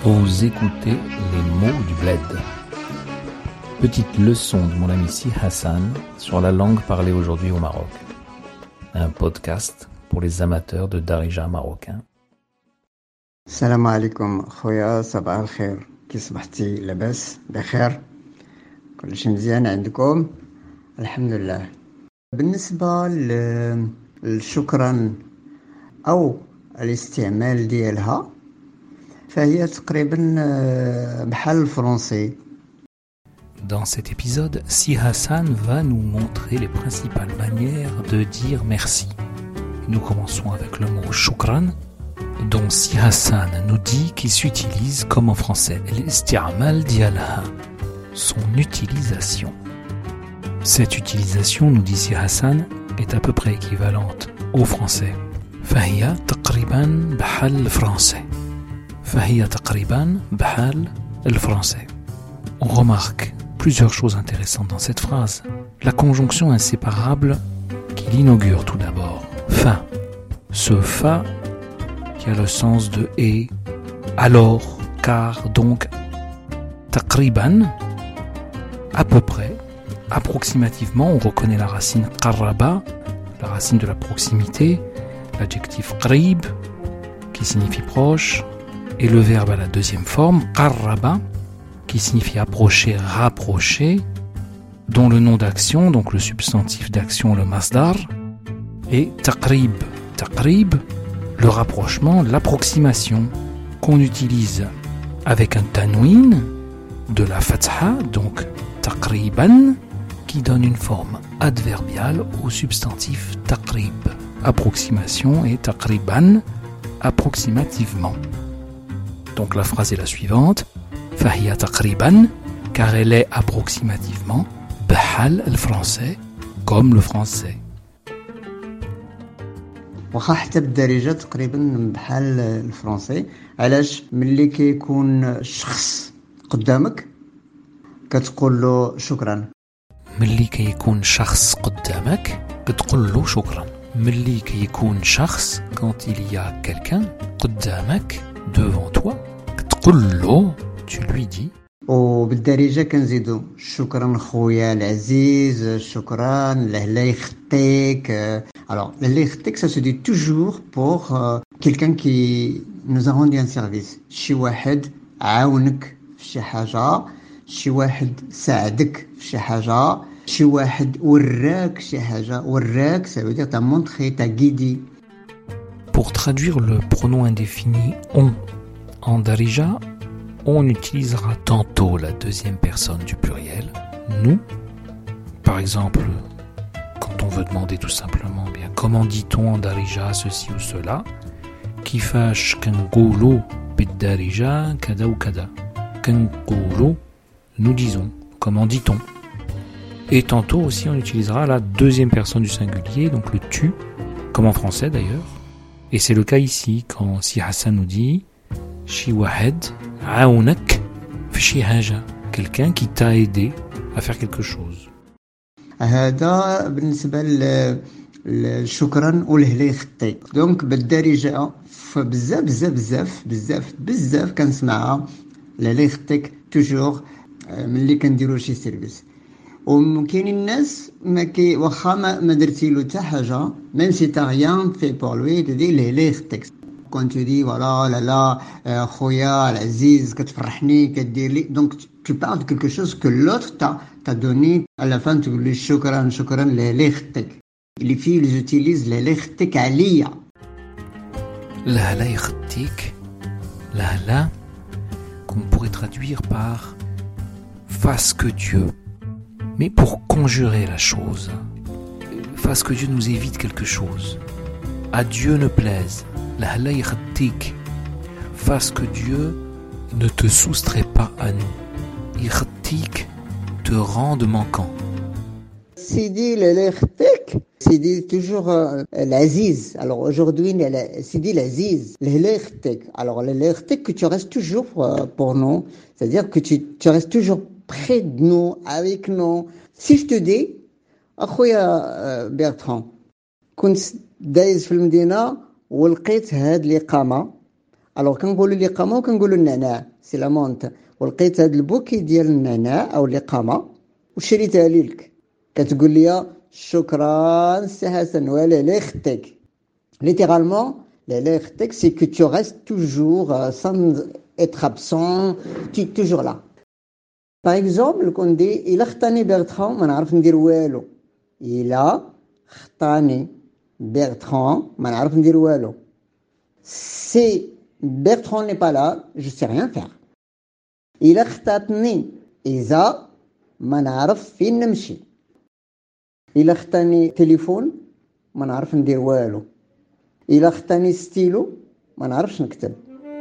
Vous écoutez les mots du bled. Petite leçon de mon ami Si Hassan sur la langue parlée aujourd'hui au Maroc. Un podcast pour les amateurs de darija marocain. السلام عليكم خويا، صباح الخير. كي صبحتي لاباس بخير؟ كلشي مزيان عندكم؟ الحمد لله. بالنسبة للشكرا أو الاستعمال ديالها فهي تقريبا بحال الفرنسي. Dans cet épisode, Si Hassan va nous montrer les principales manières de dire merci. Nous commençons avec le mot shukran, dont Si Hassan nous dit qu'il s'utilise comme en français, l'isti'mal dialha, son utilisation. Cette utilisation, nous dit Si Hassan, est à peu près équivalente au français. فهي تقريبا بحال الفرنسي. فهي تقريبا بحال الفرنسي. On remarque plusieurs choses intéressantes dans cette phrase. La conjonction inséparable qui l'inaugure tout d'abord. Fa. Ce fa qui a le sens de et, alors, car, donc. Taqriban, à peu près, approximativement, on reconnaît la racine qarraba, la racine de la proximité, l'adjectif qrib, qui signifie proche, et le verbe à la deuxième forme, qarraba, qui signifie approcher, rapprocher, dont le nom d'action, donc le substantif d'action, le masdar, et taqrib. Taqrib, le rapprochement, l'approximation, qu'on utilise avec un tanwin de la fatha, donc taqriban, qui donne une forme adverbiale au substantif taqrib. Approximation et taqriban, approximativement. Donc la phrase est la suivante. فهي تقريبا, car elle est approximativement بحال الفرنسي, comme le français. واخا حتى بالدارجة تقريبا بحال الفرنسي. علاش؟ ملي كيكون الشخص قدامك كتقول له شكرا. ملي كيكون شخص قدامك كتقول له شكرا. ملي كيكون شخص, quand il y a quelqu'un قدامك, devant toi, كتقول له, tu lui dis. وبالدارجة كنزيدو شكرا خويا العزيز، شكرا الله يخطيك. Alors, الله يخطيك, ça se dit toujours pour quelqu'un qui nous a rendu un service. شي واحد عاونك في شي حاجة، شي واحد ساعدك في شي حاجة، شي واحد وراك شي حاجة. وراك ça veut dire t'as montré, t'as guidé. Pour traduire le pronom indéfini on en darija, on utilisera tantôt la deuxième personne du pluriel, nous. Par exemple, quand on veut demander tout simplement, bien, comment dit-on en darija ceci ou cela, kifash kanqulu bid-darija kada ou kada. Kanqulu, nous disons, comment dit-on. Et tantôt aussi on utilisera la deuxième personne du singulier, donc le tu, comme en français d'ailleurs. Et c'est le cas ici, quand Si Hassan nous dit شي واحد عاونك في شي حاجة, quelqu'un qui t'a aidé à faire quelque chose. هذا بالنسبة للشكرا والله يخطيك. دونك بالدارجة فبزاف بزاف بزاف بزاف بزاف كنسمعها الله يخطيك توجور ملي كنديرو شي سيرفيس. وكاينين الناس واخا ما درتي له حتى حاجة, même si t'as rien fait pour lui, تدي الله يخطيك. Quand tu dis voilà, là, خويا العزيز كتفرحني كدير لي, donc tu parles de quelque chose que l'autre t'a donné. À la fin tu dis شكرا شكرا الله يخطيك. Les filles ils utilisent الله يخطيك عليا. الله يخطيك, là, qu'on pourrait traduire par fasse que Dieu, mais pour conjurer la chose, fasse que Dieu nous évite quelque chose, à Dieu ne plaise. Allah يخطيك, fasse que Dieu ne te soustrait pas à nous. يخطيك, te rende manquant. Sidi الله يخطيك, Sidi toujours l'Aziz. Alors aujourd'hui Sidi l'Aziz, الله يخطيك. Alors الله يخطيك que tu restes toujours pour nous, c'est-à-dire que tu restes toujours près de nous, avec nous. Si je te dis أخويا Bertrand, كنت دايز في المدينة ولقيت هاد الإقامة. الوغ كنقولوا الإقامة وكنقولوا النعناع. سي لا مونت ولقيت هاد البوكي ديال النعناع او القامه وشريتها لك كتقول لي شكرا سي حسن ولا لا يخطيك littéralement لا يخطيك سي كو tu restes toujours sans être absent tu es toujours là par exemple كون دي الا خطاني بيرتران ما نعرف ندير والو الا خطاني بيرتران ما نعرف ندير والو si Bertrand n'est pas là je sais rien faire الا خطاتني اذا ما نعرف فين نمشي الا خطاني تليفون ما نعرف ندير والو الا خطاني ستيلو ما نعرفش نكتب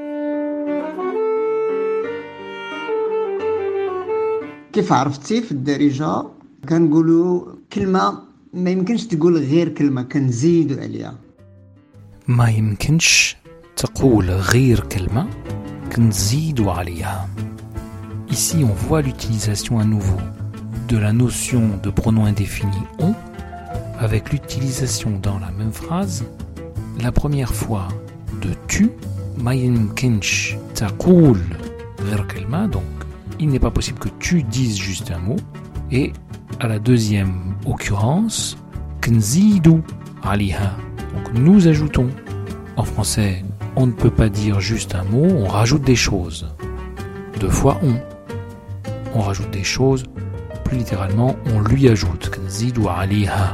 كيف عرفتي في الدارجه كنقولوا كلمه ما يمكنش تقول غير كلمه كنزيدوا عليها ما يمكنش تقول غير كلمة كنزيدوا عليها. Ici, on voit l'utilisation à nouveau de la notion de pronom indéfini on avec l'utilisation dans la même phrase la première fois de tu ما يمكنش تقول غير كلمة, donc il n'est pas possible que tu dises juste un mot, et à la deuxième occurrence كنزيدوا عليها, donc nous ajoutons. En français, on ne peut pas dire juste un mot, on rajoute des choses. Deux fois on rajoute des choses, plus littéralement, on lui ajoute. كنزيدوا عليها.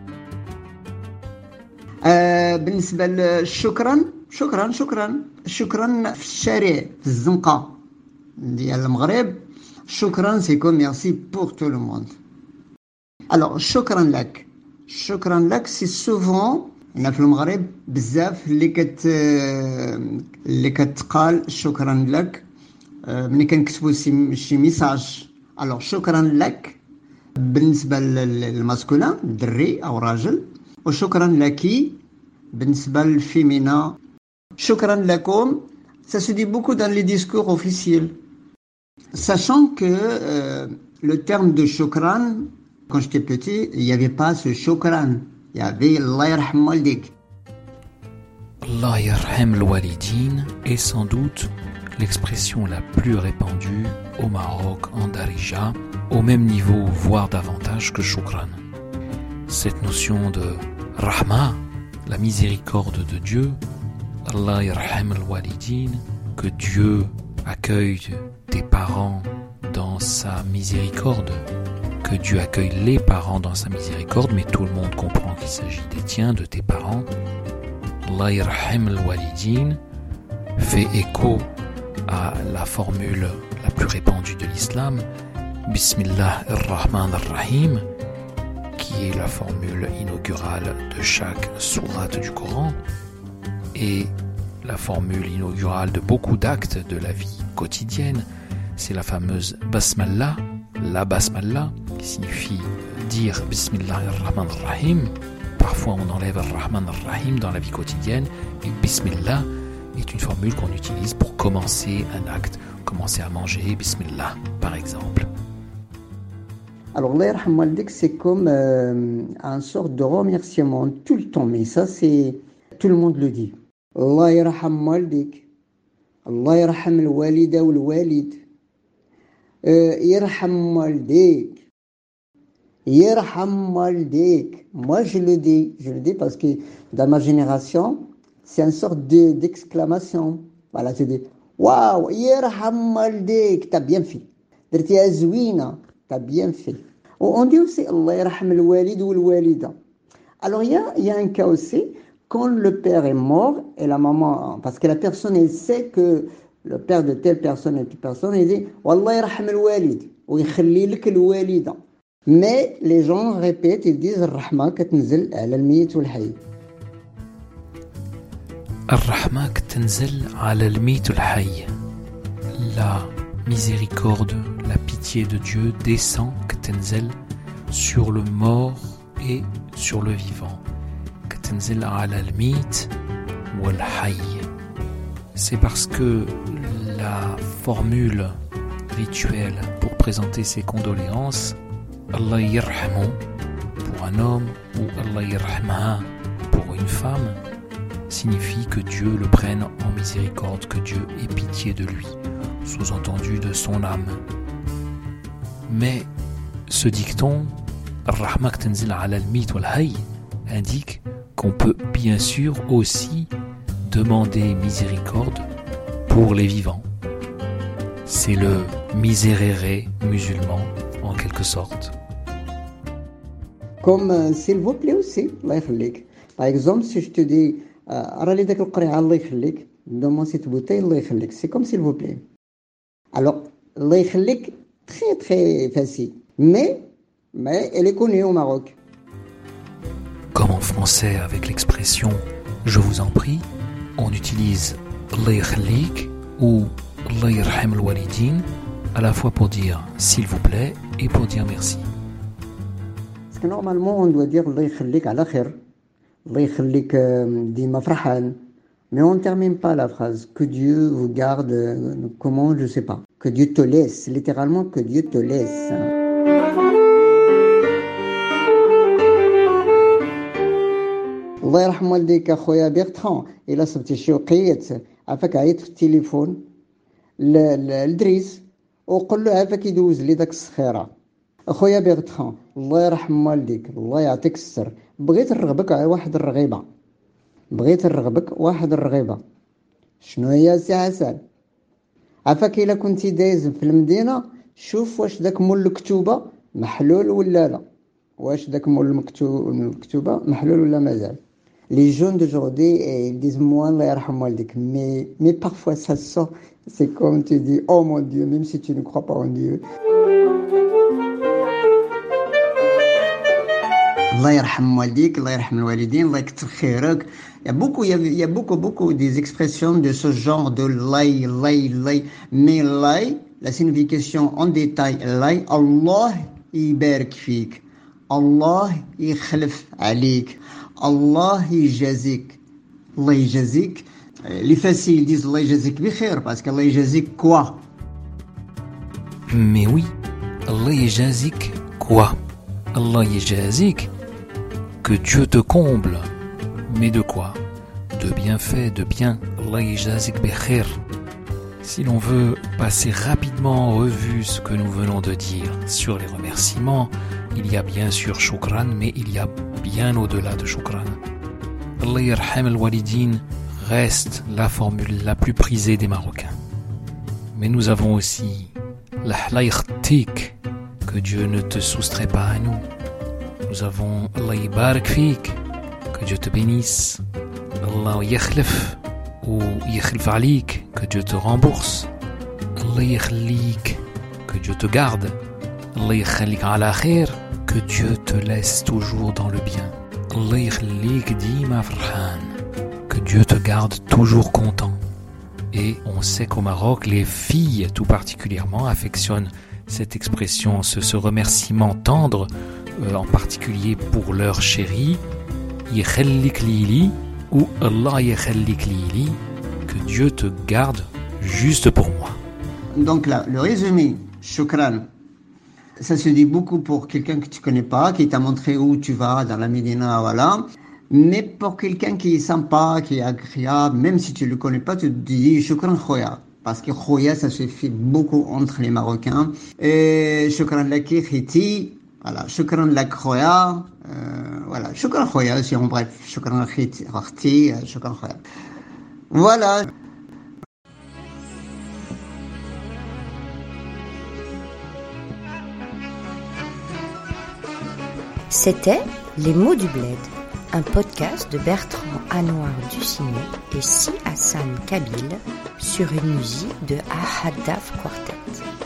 بالنسبة للشكرا شكرا في الشارع في الزنقة ديال المغرب شكرا سيكون ميرسي بور تو لو موند. alors شكرا لك سي سوفون هنا في المغرب بزاف اللي كتقال شكرا لك ملي كنكتبوا شي ميساج. alors شكرا لك بالنسبه للماسكولين الدري او راجل, وشكرا لكي بالنسبه للفيمينا. شكرا لكم ça se dit beaucoup dans les discours officiels, sachant que le terme de shukran, quand j'étais petit, il n'y avait pas ce shukran, il y avait Allah yarham waldik. Allah yarham al-walidin est sans doute l'expression la plus répandue au Maroc en Darija, au même niveau, voire davantage que shukran. Cette notion de rahma, la miséricorde de Dieu, Allah yarham al-walidin, que Dieu accueille tes parents dans sa miséricorde, que Dieu accueille les parents dans sa miséricorde, mais tout le monde comprend qu'il s'agit des tiens, de tes parents. Allah yarham al-walidin fait écho à la formule la plus répandue de l'islam, Bismillah ar-Rahman ar-Rahim, qui est la formule inaugurale de chaque sourate du Coran et la formule inaugurale de beaucoup d'actes de la vie quotidienne. C'est la fameuse Basmallah, la Basmallah, qui signifie dire Bismillah ar-Rahman ar-Rahim. Parfois on enlève ar-Rahman ar-Rahim dans la vie quotidienne, et Bismillah est une formule qu'on utilise pour commencer un acte, commencer à manger, Bismillah par exemple. Alors, Allah yarham waldik, c'est comme un sorte de remerciement tout le temps, mais ça, c'est tout le monde le dit. Allah yarham waldik, Allah yarham al-walida ou al-walid, yarham waldik, yarham waldik. Moi, je le dis parce que dans ma génération, c'est une sorte d'exclamation. Voilà, tu dis, waouh, yarham waldik, t'as bien fait. Dirti azwina. T'as bien fait. On dit aussi Allah yarham al-walid ou al-walida. Alors il y a un cas aussi quand le père est mort et la maman, parce que la personne elle sait que le père de telle personne et telle personne, il dit Wallah yarham al-walid ou يخلي لك الوالده. Mais les gens répètent, ils disent الرحمة كتنزل على الميت والحي. الرحمة كتنزل على الميت والحي. La miséricorde, la pitié de Dieu descend, Ketenzel, sur le mort et sur le vivant. Ketenzel ala al-mit wal hayy. C'est parce que la formule rituelle pour présenter ses condoléances, Allah yarhamu pour un homme ou Allah yarhamha pour une femme, signifie que Dieu le prenne en miséricorde, que Dieu ait pitié de lui. sous-entendu de son âme. Mais ce dicton, Ar-Rahmak Tenzil ala al-Mit wal-Hayy, indique qu'on peut bien sûr aussi demander miséricorde pour les vivants. C'est le miserere musulman en quelque sorte. Comme s'il vous plaît aussi, Allah يخليك. Par exemple, si je te dis رالي داك القريعة الله يخليك, donne-moi cette bouteille, Allah يخليك. C'est comme s'il vous plaît. Alors, Allah يخليك, très très facile. Mais elle est connue au Maroc. Comme en français avec l'expression « je vous en prie », on utilise « Allah yakhlik » ou « Allah yarham al-walidin » à la fois pour dire « s'il vous plaît » et pour dire « merci ». Parce que normalement, on doit dire « Allah yakhlik ala khair ». « Allah yakhlik dima farhan ». Mais on ne termine pas la phrase. Que Dieu vous garde, comment, je ne sais pas. Que Dieu te laisse, littéralement que Dieu te laisse. الله يرحم والديك اخويا بيرتران الا صبتي شي وقيت عافاك عيط في التليفون للدريس وقول له عافاك يدوز لي داك الصخيره اخويا بيرتران الله يرحم والديك الله يعطيك الستر بغيت نرغبك على واحد الرغيبه شنو هي سي حسن عافاك الا كنتي دايز في المدينه شوف واش داك مول الكتوبه محلول ولا لا واش داك مول الكتوبه محلول ولا مازال. Les jeunes d'aujourd'hui, ils disent moi, Allah yarham waldik. Mais parfois ça sort, c'est comme tu dis, oh mon Dieu, même si tu ne crois pas en Dieu. Allah yarham waldik, Allah yarham al-walidin, Allah yakthir khairak. Il y a beaucoup des expressions de ce genre de lay. Mais lay, la signification en détail, lay, Allah يبارك فيك. Allah يخلف عليك. Allah يجازيك. Allah يجازيك. Les faciles disent Allah يجازيك بخير parce qu'Allah يجازيك quoi? Mais oui, Allah يجازيك quoi? Allah يجازيك que Dieu te comble. Mais de quoi? De bienfaits, de bien. Allah يجازيك بخير. Si l'on veut passer rapidement en revue ce que nous venons de dire sur les remerciements, il y a bien sûr Shukran, mais il y a bien au-delà de Shukran. Allah yarham al-walidin reste la formule la plus prisée des Marocains. Mais nous avons aussi Allah yakhtik, que Dieu ne te soustrait pas à nous. Nous avons Allah yabarak fik, que Dieu te bénisse. Allah yakhlif ou yakhlif alik, que Dieu te rembourse. Allah yakhlik, que Dieu te garde. Allah yakhlik ala khair, que Dieu te laisse toujours dans le bien. Allah yakhlik dima farhan, que Dieu te garde toujours content. Et on sait qu'au Maroc, les filles tout particulièrement affectionnent cette expression, ce remerciement tendre, en particulier pour leur chéri, yakhallik lili ou Allah yakhallik lili, que Dieu te garde juste pour moi. Donc là, le résumé, shukran, ça se dit beaucoup pour quelqu'un que tu connais pas, qui t'a montré où tu vas dans la Médina, voilà. Mais pour quelqu'un qui est sympa, qui est agréable, même si tu le connais pas, tu te dis shukran khoya. Parce que khoya, ça se fait beaucoup entre les Marocains. Et shukran laki khiti, voilà, shukran lak khoya, voilà, shukran khoya, si en bref, shukran khiti, shukran khoya. Voilà. C'était Les mots du bled, un podcast de Bertrand Anouar Ducinet et Si Hassan Kabil sur une musique de Ahadaf Quartet.